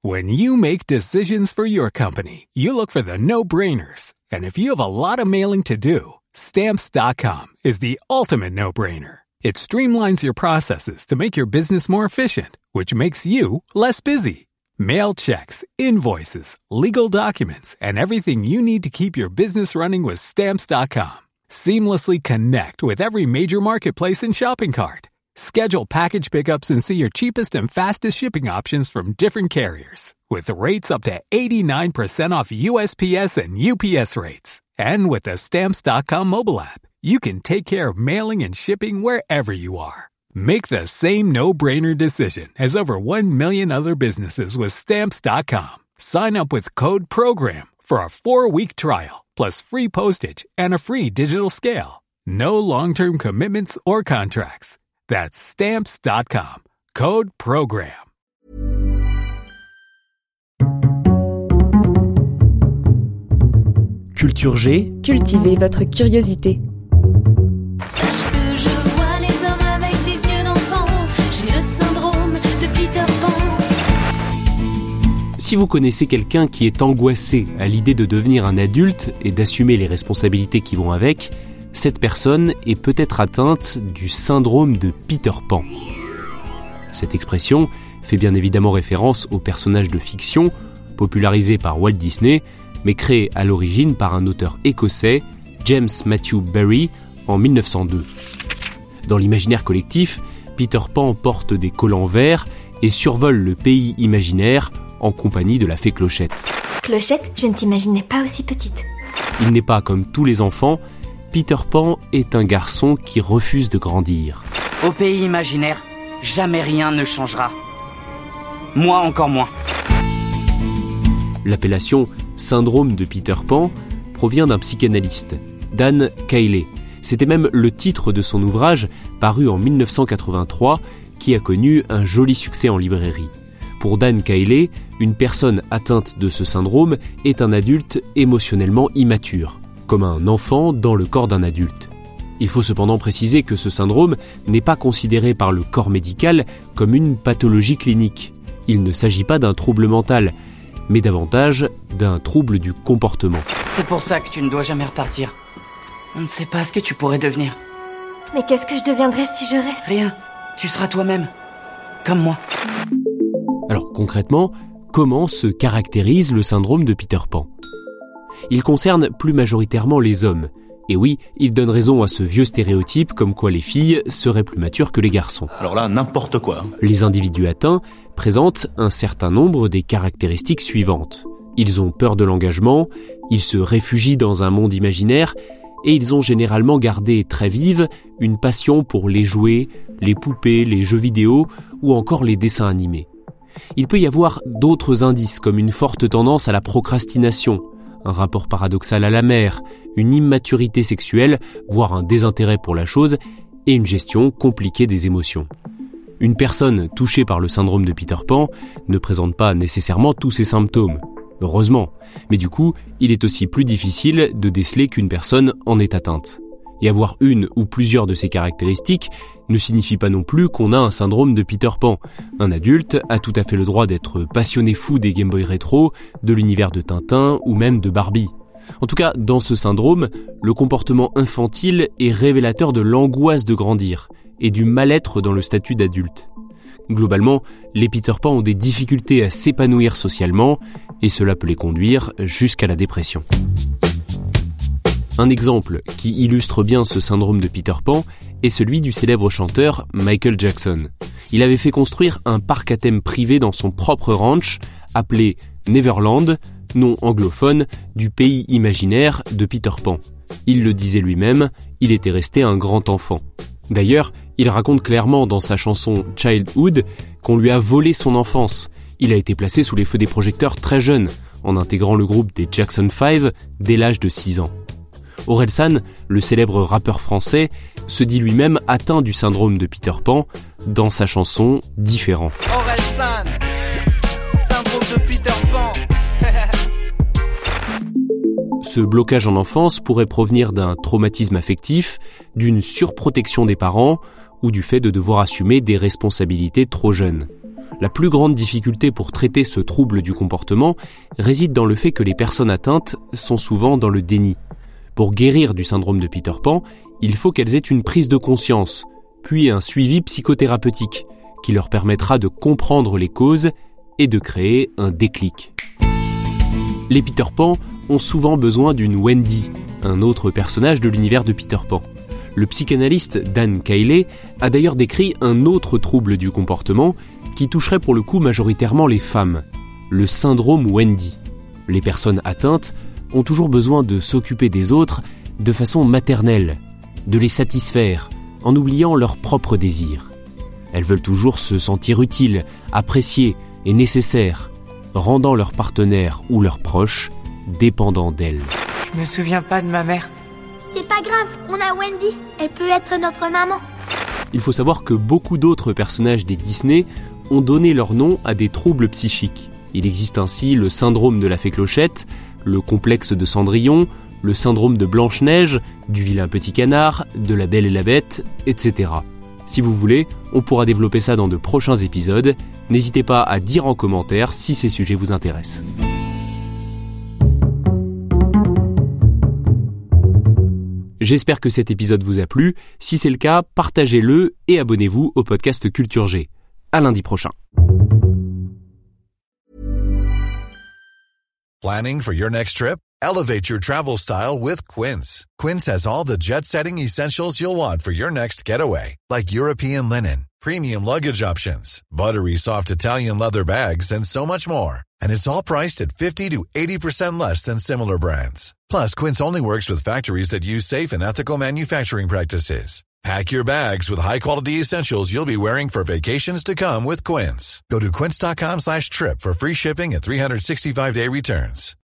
When you make decisions for your company, you look for the no-brainers. And if you have a lot of mailing to do, Stamps.com is the ultimate no-brainer. It streamlines your processes to make your business more efficient, which makes you less busy. Mail checks, invoices, legal documents, and everything you need to keep your business running with Stamps.com. Seamlessly connect with every major marketplace and shopping cart. Schedule package pickups and see your cheapest and fastest shipping options from different carriers. With rates up to 89% off USPS and UPS rates. And with the Stamps.com mobile app, you can take care of mailing and shipping wherever you are. Make the same no-brainer decision as over 1 million other businesses with Stamps.com. Sign up with code PROGRAM for a 4-week trial, plus free postage and a free digital scale. No long-term commitments or contracts. That's Stamps.com. Code PROGRAM. Culture G. Cultivez votre curiosité. Sache que je vois les hommes avec des yeux d'enfant. J'ai le syndrome de Peter Pan. Si vous connaissez quelqu'un qui est angoissé à l'idée de devenir un adulte et d'assumer les responsabilités qui vont avec, cette personne est peut-être atteinte du syndrome de Peter Pan. Cette expression fait bien évidemment référence au personnage de fiction popularisé par Walt Disney, mais créé à l'origine par un auteur écossais, James Matthew Barrie, en 1902. Dans l'imaginaire collectif, Peter Pan porte des collants verts et survole le pays imaginaire en compagnie de la fée Clochette. Clochette, je ne t'imaginais pas aussi petite. Il n'est pas comme tous les enfants. Peter Pan est un garçon qui refuse de grandir. Au pays imaginaire, jamais rien ne changera. Moi encore moins. L'appellation « syndrome de Peter Pan » provient d'un psychanalyste, Dan Cayley. C'était même le titre de son ouvrage, paru en 1983, qui a connu un joli succès en librairie. Pour Dan Cayley, une personne atteinte de ce syndrome est un adulte émotionnellement immature, comme un enfant dans le corps d'un adulte. Il faut cependant préciser que ce syndrome n'est pas considéré par le corps médical comme une pathologie clinique. Il ne s'agit pas d'un trouble mental, mais davantage d'un trouble du comportement. C'est pour ça que tu ne dois jamais repartir. On ne sait pas ce que tu pourrais devenir. Mais qu'est-ce que je deviendrais si je reste ? Rien, tu seras toi-même, comme moi. Alors concrètement, comment se caractérise le syndrome de Peter Pan ? Il concerne plus majoritairement les hommes. Et oui, il donne raison à ce vieux stéréotype comme quoi les filles seraient plus matures que les garçons. Alors là, n'importe quoi. Les individus atteints présentent un certain nombre des caractéristiques suivantes. Ils ont peur de l'engagement, ils se réfugient dans un monde imaginaire et ils ont généralement gardé très vive une passion pour les jouets, les poupées, les jeux vidéo ou encore les dessins animés. Il peut y avoir d'autres indices comme une forte tendance à la procrastination, un rapport paradoxal à la mère, une immaturité sexuelle, voire un désintérêt pour la chose, et une gestion compliquée des émotions. Une personne touchée par le syndrome de Peter Pan ne présente pas nécessairement tous ces symptômes. Heureusement, mais du coup, il est aussi plus difficile de déceler qu'une personne en est atteinte. Et avoir une ou plusieurs de ces caractéristiques ne signifie pas non plus qu'on a un syndrome de Peter Pan. Un adulte a tout à fait le droit d'être passionné fou des Game Boy rétro, de l'univers de Tintin ou même de Barbie. En tout cas, dans ce syndrome, le comportement infantile est révélateur de l'angoisse de grandir et du mal-être dans le statut d'adulte. Globalement, les Peter Pan ont des difficultés à s'épanouir socialement et cela peut les conduire jusqu'à la dépression. Un exemple qui illustre bien ce syndrome de Peter Pan est celui du célèbre chanteur Michael Jackson. Il avait fait construire un parc à thème privé dans son propre ranch, appelé Neverland, nom anglophone du pays imaginaire de Peter Pan. Il le disait lui-même, il était resté un grand enfant. D'ailleurs, il raconte clairement dans sa chanson Childhood qu'on lui a volé son enfance. Il a été placé sous les feux des projecteurs très jeune, en intégrant le groupe des Jackson 5 dès l'âge de 6 ans. Orelsan, le célèbre rappeur français, se dit lui-même atteint du syndrome de Peter Pan dans sa chanson Différent. Orelsan, syndrome de Peter Pan. Ce blocage en enfance pourrait provenir d'un traumatisme affectif, d'une surprotection des parents ou du fait de devoir assumer des responsabilités trop jeunes. La plus grande difficulté pour traiter ce trouble du comportement réside dans le fait que les personnes atteintes sont souvent dans le déni. Pour guérir du syndrome de Peter Pan, il faut qu'elles aient une prise de conscience, puis un suivi psychothérapeutique qui leur permettra de comprendre les causes et de créer un déclic. Les Peter Pan ont souvent besoin d'une Wendy, un autre personnage de l'univers de Peter Pan. Le psychanalyste Dan Cayley a d'ailleurs décrit un autre trouble du comportement qui toucherait pour le coup majoritairement les femmes, le syndrome Wendy. Les personnes atteintes ont toujours besoin de s'occuper des autres de façon maternelle, de les satisfaire, en oubliant leurs propres désirs. Elles veulent toujours se sentir utiles, appréciées et nécessaires, rendant leurs partenaires ou leurs proches dépendants d'elles. Je me souviens pas de ma mère. C'est pas grave, on a Wendy. Elle peut être notre maman. Il faut savoir que beaucoup d'autres personnages des Disney ont donné leur nom à des troubles psychiques. Il existe ainsi le syndrome de la fée Clochette, le complexe de Cendrillon, le syndrome de Blanche-Neige, du vilain petit canard, de la Belle et la Bête, etc. Si vous voulez, on pourra développer ça dans de prochains épisodes. N'hésitez pas à dire en commentaire si ces sujets vous intéressent. J'espère que cet épisode vous a plu. Si c'est le cas, partagez-le et abonnez-vous au podcast Culture G. À lundi prochain. Planning for your next trip? Elevate your travel style with Quince. Quince has all the jet-setting essentials you'll want for your next getaway, like European linen, premium luggage options, buttery soft Italian leather bags, and so much more. And it's all priced at 50 to 80% less than similar brands. Plus, Quince only works with factories that use safe and ethical manufacturing practices. Pack your bags with high-quality essentials you'll be wearing for vacations to come with Quince. Go to quince.com/trip for free shipping and 365-day returns.